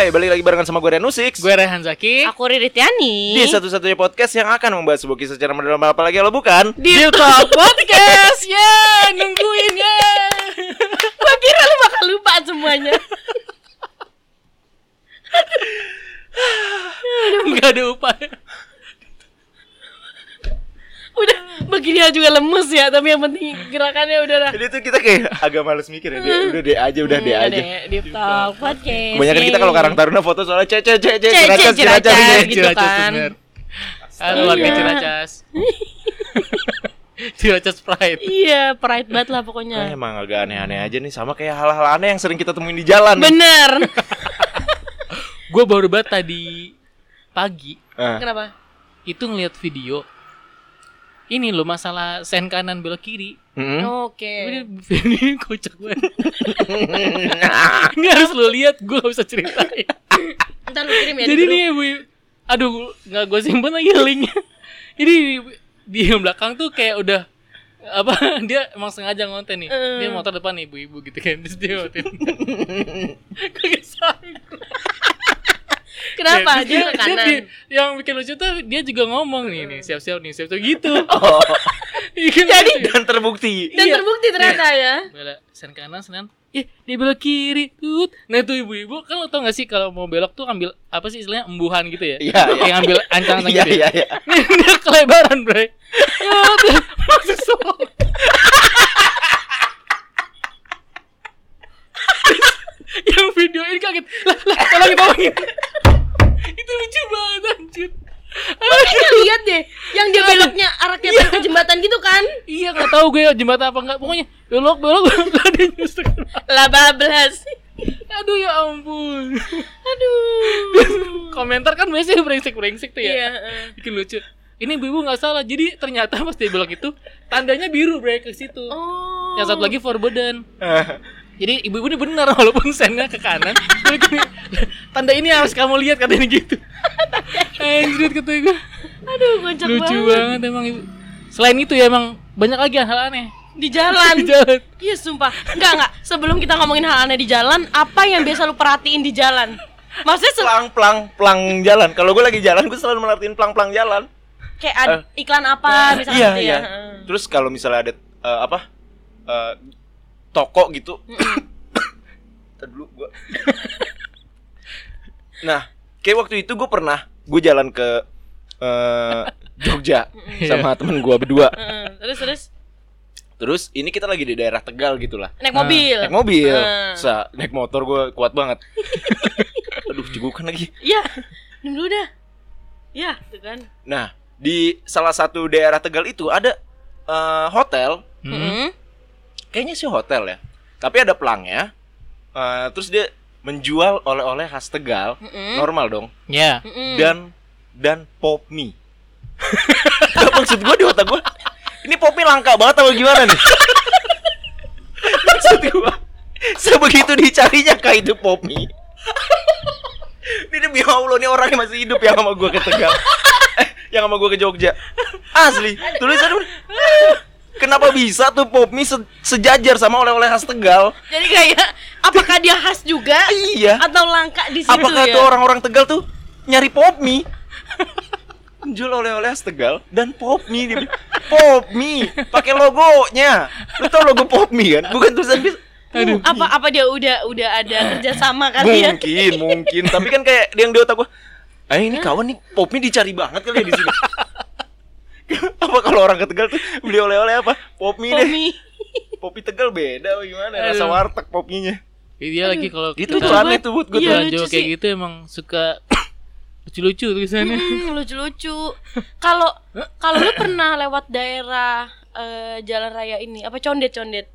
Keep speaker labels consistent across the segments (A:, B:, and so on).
A: Hai, balik lagi barengan sama gue Rian Usik.
B: Gue Rehan Zaki.
C: Aku Riri Tiani.
A: Di satu-satunya podcast yang akan membahas sebuah kisah secara mendalam, apalagi kalau bukan
C: Deep Talk Podcast. Nungguin ya. Gua kira lu bakal lupa semuanya.
B: Enggak ada upaya.
C: Udah begini juga lemes ya, tapi yang penting gerakannya udah lah.
A: Jadi tuh kita kayak agak males mikir ya. Udah deh aja.
C: Deep Talk Podcast.
A: Kebanyakan kita kalau Karang Taruna foto soalnya
C: Ciracas gitu kan.
B: Halo warga Ciracas. Ciracas Pride.
C: Iya, pride banget lah pokoknya.
A: Emang agak aneh-aneh aja nih, sama kayak hal-hal aneh yang sering kita temuin di jalan.
C: Bener.
B: Gue baru banget tadi pagi.
C: Kenapa?
B: Itu ngeliat video. Ini loh masalah sen kanan belok kiri.
C: Oke.
B: Ini kocak banget. Ini harus lo lihat, gue gak bisa ceritain.
C: Ntar lu kirim ya.
B: Jadi nih ibu, aduh nggak gue simpen lagi linknya. Jadi di belakang tuh kayak udah apa, dia emang sengaja ngonten nih. Dia motor depan nih ibu-ibu gitu kan, terus dia ngonten. Kagak sanggup.
C: Kenapa? Dia ke kanan.
B: Yang bikin lucu tuh dia juga ngomong nih siap-siap gitu.
A: Oh.
B: Jadi
A: Dan terbukti.
C: Dan terbukti ternyata ya.
B: Belok sen kanan, dia belok kiri. Nah itu ibu-ibu kan lo tau gak sih kalau mau belok tuh ambil apa sih istilahnya embuhan gitu ya?
A: Iya.
B: Yang ambil ancang-ancang gitu.
A: Iya.
B: Nih dia kelebaran, Bray. Masuk soal. Yang video ini kaget. Lah, tolongin. Itu lucu banget anjir.
C: Makanya lihat deh, yang dia beloknya arah kayak ke jembatan gitu kan?
B: Iya, enggak tahu gue jembatan apa enggak. Pokoknya belok lah dia nyusuk.
C: Lah bablas.
B: Aduh ya ampun.
C: Aduh.
B: Komentar kan biasanya brengsek tuh ya.
C: Iya.
B: Bikin lucu. Ini ibu nggak salah. Jadi ternyata pas dia belok itu tandanya biru break ke situ.
C: Oh.
B: Yang satu lagi forbidden. Jadi ibu ini benar walaupun sennya ke kanan. Tanda ini harus kamu lihat katanya gitu. Anjir kata gue.
C: Aduh, kocak banget.
B: Lucu banget emang ibu. Selain itu ya emang banyak lagi hal aneh
C: Di jalan. Iya sumpah. Enggak. Sebelum kita ngomongin hal aneh di jalan, apa yang biasa lu perhatiin di jalan? Maksudnya
A: Plang jalan. Kalau gue lagi jalan, gue selalu merhatiin plang jalan.
C: Kayak iklan apa misalnya gitu ya.
A: Terus kalau misalnya ada toko gitu. Tadi dulu gua. Nah, kayak waktu itu gue jalan ke Jogja sama temen gue berdua. Terus ini kita lagi di daerah Tegal gitulah.
C: Naik mobil.
A: Naik motor gue kuat banget. Aduh, cegukan lagi.
C: Iya. Dulu dah. Iya, tuh kan.
A: Nah, di salah satu daerah Tegal itu ada hotel. Kayaknya sih hotel ya. Tapi ada pelangnya. Terus dia menjual oleh-oleh khas Tegal. Normal dong.
B: Iya.
A: Dan pop mie. Maksud gue di otak gue, ini pop mie langka banget atau gimana nih? Maksud gue, sebegitu dicarinya kayak itu pop mie. Ini demi Allah, nih orangnya masih hidup yang sama gue ke Tegal. Yang sama gue ke Jogja. Asli, tulisan kenapa bisa tuh pop mie sejajar sama oleh-oleh khas Tegal?
C: Jadi kayak apakah dia khas juga?
A: Iya.
C: Atau langka di situ
A: apakah
C: ya?
A: Tuh orang-orang Tegal tuh nyari pop mie? Jual oleh-oleh khas Tegal dan pop mie. Pop mie pakai logonya. Lu tau logo pop mie kan? Bukan tulisan
B: Aduh.
C: Apa dia udah ada kerjasama kali ya?
A: Mungkin. Tapi kan kayak yang di otak gua, ini kawan nih pop mie dicari banget kali ya di sini. Apa kalau orang ke Tegal tuh beli oleh-oleh apa? Pop mie deh. Pop mie Tegal beda gimana? Rasa warteg pop mie-nya.
B: Iya lagi kalau
A: itu tuh aneh tuh buat gue.
B: Iya, kayak sih. Gitu emang suka lucu-lucu tulisannya.
C: Lucu-lucu. Kalau lu pernah lewat daerah jalan raya ini, apa Condet?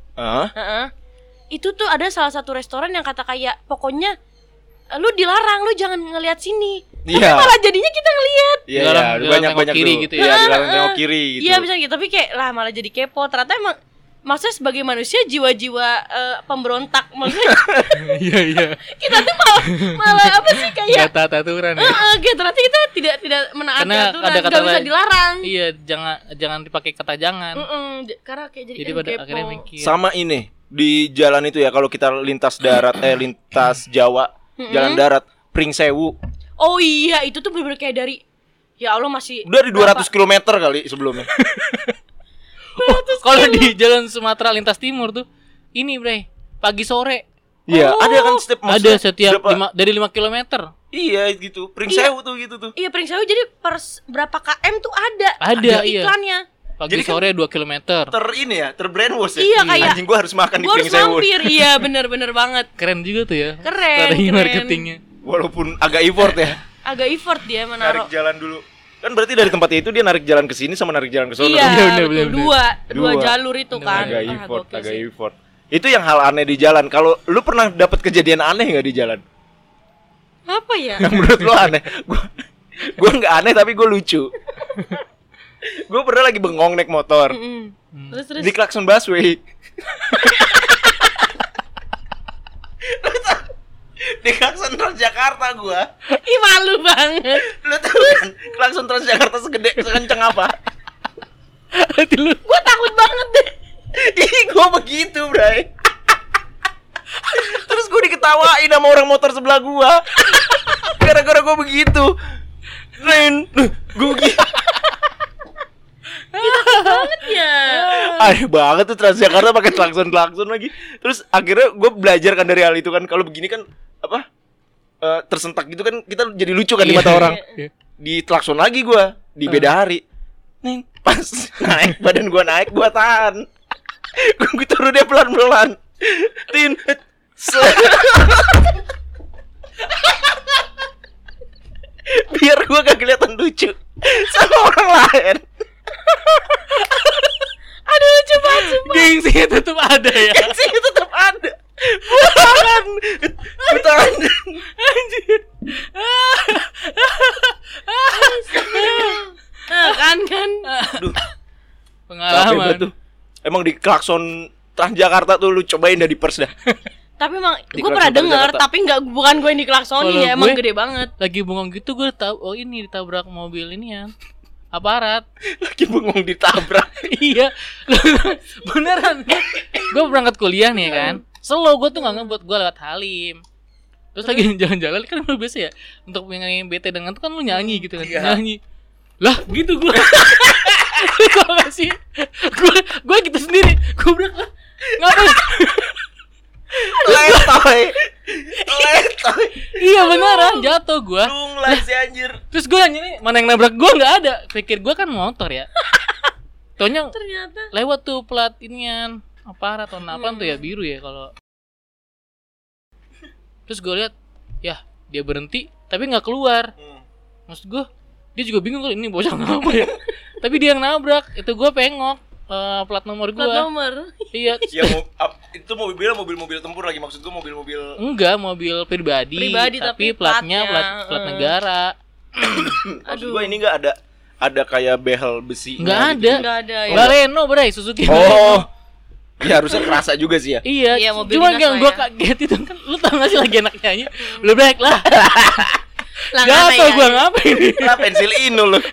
C: Itu tuh ada salah satu restoran yang kata kayak pokoknya lu dilarang, lu jangan ngelihat sini. Tapi malah jadinya kita ngelihat.
A: Iya, banyak
B: kiri
A: tuh.
B: gitu ya.
A: Iya, dilarang tengok kiri gitu.
C: Iya, bisa gitu. Tapi kayak lah malah jadi kepo. Ternyata emang maksudnya sebagai manusia jiwa-jiwa pemberontak maksudnya.
B: Iya.
C: Kita tuh malah apa sih kayak
B: aturan ya.
C: Kayak ternyata kita tidak menaati aturan, enggak bisa dilarang.
B: Iya, jangan dipakai kata jangan.
C: Karena kayak jadi
B: pada
C: kepo.
B: akhirnya mikir.
A: Sama ini di jalan itu ya, kalau kita lintas darat lintas Jawa, jalan darat, Pringsewu.
C: Oh iya, itu tuh bener-bener kayak dari ya Allah masih
A: Udah di 200 km kali sebelumnya.
B: Kalau di jalan Sumatera lintas timur tuh ini bre, pagi sore.
A: Iya, ada kan
B: Ada setiap dari 5 km.
A: Iya gitu, Pringsewu tuh gitu tuh.
C: Iya, Pringsewu jadi berapa km tuh ada
B: Iya.
C: iklannya.
B: Pagi
A: Jadi
B: sore 2 km.
A: Terbrainwash ya.
C: Iya, kayak
A: anjing gua harus makan di
C: Gua harus
A: Pringsewu.
C: mampir, iya bener-bener banget.
B: Keren juga tuh ya.
C: Keren,
B: Strategi
C: keren.
B: marketingnya.
A: Walaupun agak effort ya.
C: Agak effort dia
A: Narik
C: menaruh.
A: jalan dulu. Kan berarti dari tempatnya itu dia narik jalan ke sini sama narik jalan ke sono.
C: Iya,
B: Bener,
C: betul.
B: bener.
C: Dua jalur itu kan.
A: Agak
C: Ah,
A: effort,
C: gokil
A: agak
C: sih.
A: effort. Itu yang hal aneh di jalan. Kalau lu pernah dapat kejadian aneh nggak di jalan?
C: Apa ya?
A: Yang menurut lu aneh? Gua nggak aneh tapi gue lucu. Gue pernah lagi bengong naik motor
C: Terus
A: di klakson busway. Di klakson Transjakarta gue.
C: Ih, malu banget.
A: Lu tahu kan klakson Transjakarta sekencang apa?
B: Hati lu.
C: Gua takut banget deh.
A: Ih, gue begitu, Bray. Terus gue diketawain sama orang motor sebelah gue. Gara-gara gue begitu. Ren, gue begitu.
C: Banget ya.
A: Aneh banget tuh Transjakarta pakai klakson lagi. Terus akhirnya gue belajar kan dari hal itu kan. Kalau begini kan apa? Tersentak gitu kan kita jadi lucu kan di mata orang.
B: Iya.
A: Di klakson lagi gue di beda hari. Nih pas naik badan gue naik gue tahan. Gue turun dia pelan-pelan. Tin. Biar gue gak kelihatan lucu sama orang lain.
C: Aduh, lucu banget sumpah.
B: Gengsinya tetap ada ya.
A: Sih tetap ada. Bukan. Bukan.
B: Anjir.
C: Nah, kan.
A: Aduh, capek
B: Pengalaman.
A: banget tuh. Emang di klakson Transjakarta tuh lu cobain dah di pers dah.
C: Tapi emang
A: Di
C: gue pernah
A: klakson
C: denger,
A: Jakarta.
C: tapi bukan gue yang diklaksonin
B: Kalau
C: ya, emang
B: gue-
C: gede banget.
B: Lagi bengong gitu gue tahu ini ditabrak mobil ini ya. Aparat.
A: Lagi bengong ditabrak.
B: Iya. Beneran. Gue berangkat kuliah nih kan. Slow gue tuh gak ngebuat gue lewat Halim. Terus lagi jalan-jalan kan lu biasa ya untuk ngilangin bete dengan tuh kan lu nyanyi gitu kan.
A: Iya.
B: Nyanyi. Lah gitu gue. Gue gak sih. Gue gitu sendiri. Gue bilang lah. Ngapain?
A: Letoy. Letoy.
B: Iya beneran jatuh gue.
A: Lunglai si anjir.
B: Terus gue nanya nih mana yang nabrak gue nggak ada. Pikir gue kan motor ya. Taunya
C: Ternyata
B: lewat tuh plat inian aparat atau apaan tuh ya biru ya kalau. Terus gue lihat ya dia berhenti tapi nggak keluar. Maksud gue dia juga bingung kalau ini bocah ngapa ya. Tapi dia yang nabrak. Itu gue pengok plat nomor gue.
C: plat nomor.
B: Iya.
A: Ya itu mobil-mobil tempur lagi maksud gua mobil-mobil.
B: Enggak mobil pribadi tapi platnya
C: platnya,
B: plat negara.
A: Maksud gua ini enggak ada kayak behel besi.
B: Nggak ada.
C: Enggak ada ya.
B: Baleno bray Suzuki.
A: Oh. Ya harusnya kerasa juga sih ya.
B: Iya,
C: Iya, mobil
B: cuma
C: dinas
B: yang
C: lah
B: gue
C: ya.
B: kaget itu kan, lu tau gak sih lagi anak nyanyi, belum baik lah,
C: Lah,
B: gak
C: mana
B: tau
C: ya?
B: gue ngapain nih.
A: Lah pensil inul lu.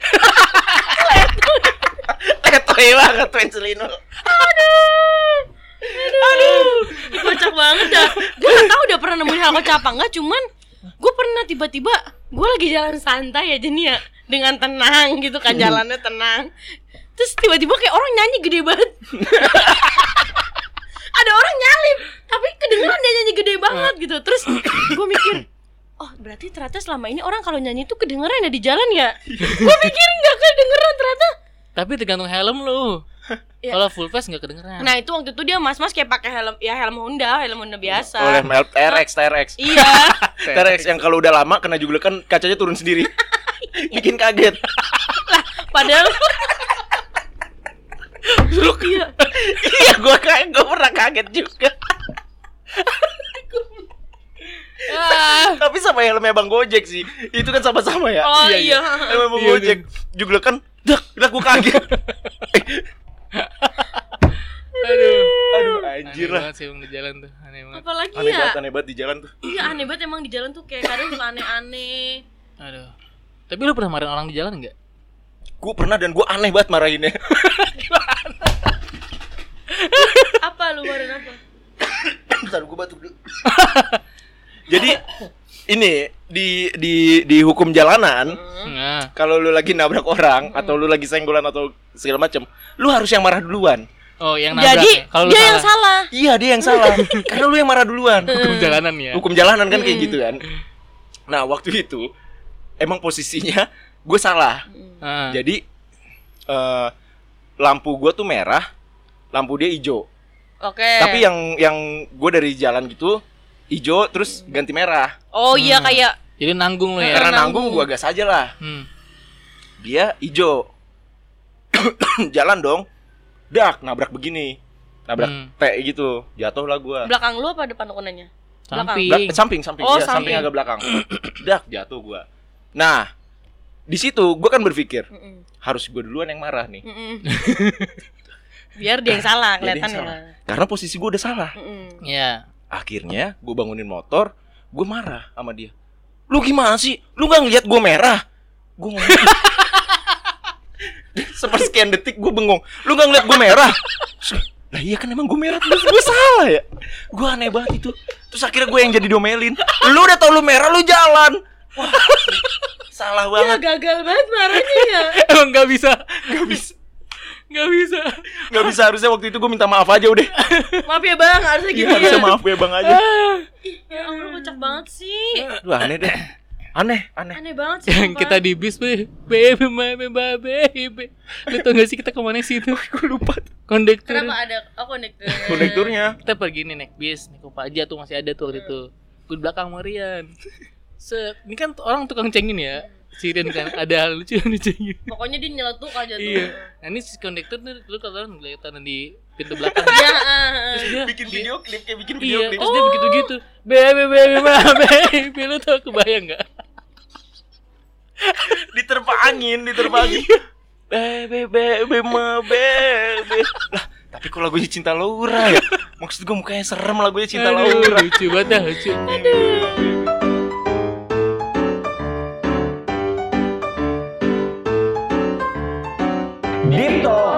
A: Letoy banget pensil inul.
C: Aduh, kocak banget dah. Gue gak tau udah pernah nemuin hal kocak apa enggak, cuman gue pernah tiba-tiba gue lagi jalan santai aja nih ya, dengan tenang gitu kan, jalannya tenang. Terus tiba-tiba kayak orang nyanyi gede banget. Ada orang nyalip, tapi kedengeran dia nyanyi gede banget gitu. Terus gue mikir, oh berarti ternyata selama ini orang kalau nyanyi itu kedengeran ya di jalan ya. Gue pikir nggak kedengeran ternyata.
B: Tapi tergantung helm lu,
C: Ya.
B: kalau full face gak kedengeran.
C: Nah itu waktu itu dia mas-mas kayak pakai helm, ya helm Honda biasa.
A: Oleh TRX.
C: Iya.
A: TRX yang kalau udah lama kena juglekan kacanya turun sendiri. Bikin kaget.
C: Padahal iya.
A: Iya, gua pernah kaget juga. Tapi sama helmnya Bang Gojek sih. Itu kan sama-sama ya.
C: Oh iya.
A: Helmnya Bang
B: Iya,
A: Gojek. Juglekan, dak gua kaget. Aduh, anjir
B: Aneh
A: lah.
B: banget sih emang di jalan tuh, aneh banget.
C: Apalagi
A: Aneh banget di jalan tuh.
C: Iya aneh banget emang di jalan tuh kayak kadang suka aneh-aneh.
B: Aduh. Tapi lu pernah marahin orang di jalan nggak?
A: Gua pernah dan gua aneh banget marahinnya.
C: Apa lu baru apa?
A: Bentar gua batuk dulu. Jadi ini di hukum jalanan,
B: Nah.
A: kalau lu lagi nabrak orang atau lu lagi senggolan atau segala macam, lu harus yang marah duluan.
B: Oh, yang nabrak.
C: Jadi
B: ya? Kalau lu
C: dia yang salah.
A: Iya, dia yang salah. Karena lu yang marah duluan.
B: hukum jalanan ya.
A: Hukum jalanan kan kayak gitu kan. Nah, waktu itu emang posisinya gue salah.
B: Ah.
A: Jadi lampu gue tuh merah, lampu dia hijau.
C: Oke.
A: Tapi yang gue dari jalan gitu hijau terus ganti merah.
C: Oh iya kayak
B: Jadi nanggung lu ya.
A: Karena nanggung gue gas aja lah. Dia hijau. Jalan dong. Dak nabrak begini. Nabrak T gitu. Jatuh lah gue.
C: belakang lu apa depan kunanya?
B: Samping.
A: Samping.
C: Oh,
A: Iya,
C: samping.
A: samping agak belakang. Dak jatuh gue. Nah, di situ gue kan berpikir harus gue duluan yang marah nih.
C: Biar dia yang salah
A: Dia yang
C: kelihatannya.
A: salah. Karena posisi gue udah salah.
B: Iya.
A: Akhirnya gue bangunin motor, gue marah sama dia. Lu gimana sih? Lu gak ngeliat gue merah? Gue ngomong sepersekian detik gue bengong. Lu gak ngeliat gue merah? Lah iya kan emang gue merah. Terus gue salah ya. Gue aneh banget itu. Terus akhirnya gue yang jadi domelin. Lu udah tau lu merah, lu jalan. Wah, salah
C: Ya
A: banget.
C: gagal banget marahnya ya.
B: Emang gak bisa.
A: Gak bisa, harusnya waktu itu gue minta maaf aja udah.
C: Maaf ya bang, harusnya
A: Iya,
C: gitu
A: harusnya
C: ya.
A: maaf ya bang aja.
C: Ya Allah kocak banget sih.
A: Wah aneh deh. Aneh.
C: Aneh banget sih.
B: Yang
C: sumpah.
B: kita di bis, baby. Lu tau gak sih kita kemana sih itu?
A: Gue lupa.
B: Kondektur.
C: Kenapa ada kondektur?
A: Konekturnya.
B: Kita pergi nih naik bis, naik Kopaja tuh masih ada tuh waktu itu. Gue di belakang Marian. Ini kan orang tukang cengin ya. Si Rian kan ada hal lucu yang dicengin.
C: Pokoknya dia nyeletuk aja tuh.
B: Iya. Nah ini si kondektur tuh lu kalau kelihatan di pintu belakang.
C: Ya,
B: Terus dia
A: Bikin video klip kayak bikin video
B: iya,
A: klip.
B: terus dia begitu-gitu. Baby, lu tau kebayang enggak?
A: Diterpa angin. Bebe. Lah, tapi kok lagunya Cinta Laura ya? Maksud gue mukanya serem lagunya Cinta Laura.
B: Lucu banget dah, lucu.
A: Deep Talk